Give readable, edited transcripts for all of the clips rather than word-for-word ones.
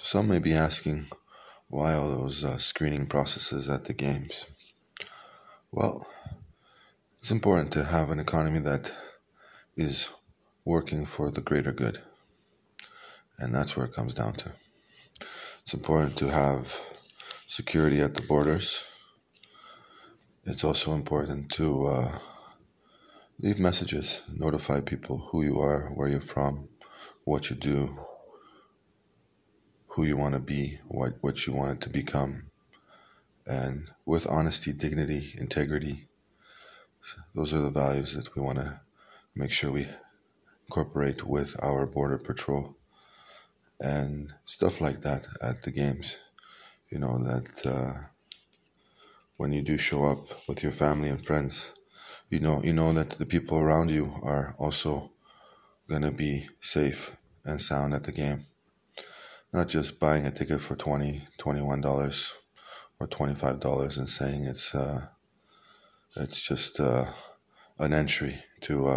Some may be asking, why all those screening processes at the games? Well, it's important to have an economy that is working for the greater good. And that's where it comes down to. It's important to have security at the borders. It's also important to leave messages, notify people who you are, where you're from, what you do, who you want to be, what you want it to become. And with honesty, dignity, integrity, those are the values that we want to make sure we incorporate with our border patrol and stuff like that at the games. You know, that when you do show up with your family and friends, you know that the people around you are also going to be safe and sound at the game. Not just buying a ticket for $20, $21 or $25 and saying it's just an entry to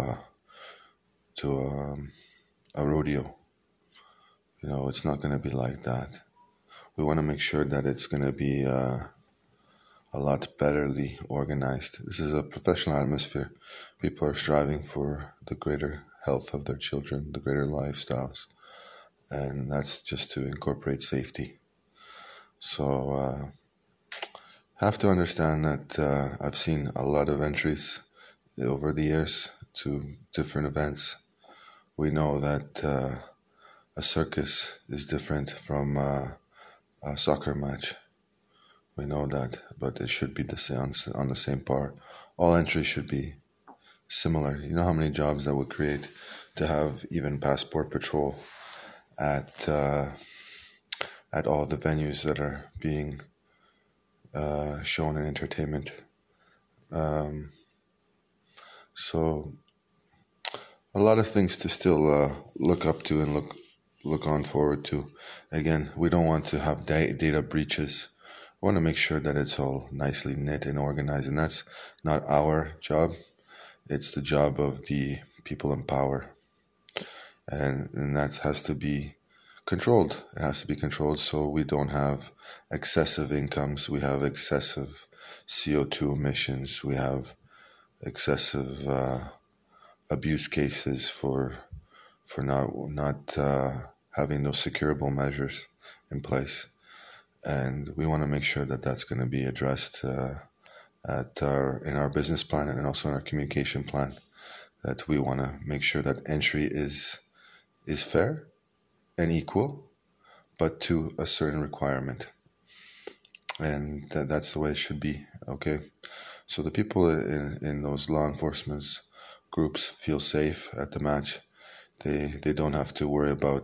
a rodeo. You know, it's not going to be like that. We want to make sure that it's going to be a lot betterly organized. This is a professional atmosphere. People are striving for the greater health of their children, the greater lifestyles, and that's just to incorporate safety. So have to understand that I've seen a lot of entries over the years to different events. We know that a circus is different from a soccer match. We know that, but it should be the same on the same par. All entries should be similar. You know how many jobs that would create to have even passport patrol at all the venues that are being shown in entertainment. So a lot of things to still look up to and look on forward to. Again, we don't want to have data breaches. We want to make sure that it's all nicely knit and organized, and that's not our job. It's the job of the people in power, and that has to be controlled. It has to be controlled so we don't have excessive incomes. We have excessive CO2 emissions. We have excessive abuse cases for not having those securable measures in place, and we want to make sure that that's going to be addressed in our business plan and also in our communication plan. That we want to make sure that entry is fair and equal, but to a certain requirement, and that's the way it should be. Okay, so the people in those law enforcement groups feel safe at the match. They don't have to worry about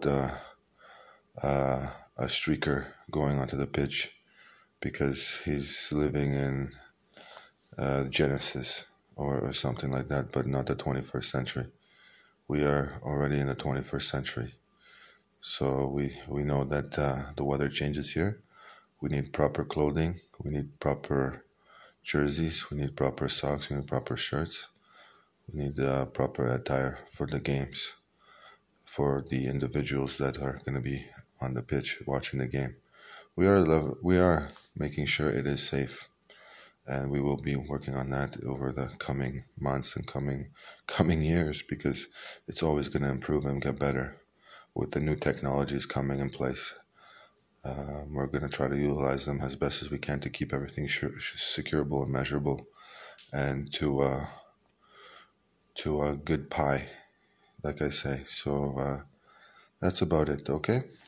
a streaker going onto the pitch because he's living in Genesis or something like that, but not the 21st century. We are already in the 21st century. So we know that the weather changes here. We need proper clothing. We need proper jerseys. We need proper socks. We need proper shirts. We need proper attire for the games, for the individuals that are going to be on the pitch watching the game. We are making sure it is safe, and we will be working on that over the coming months and coming years, because it's always going to improve and get better with the new technologies coming in place. We're going to try to utilize them as best as we can to keep everything securable and measurable, and to a good pie, like I say. So that's about it, okay?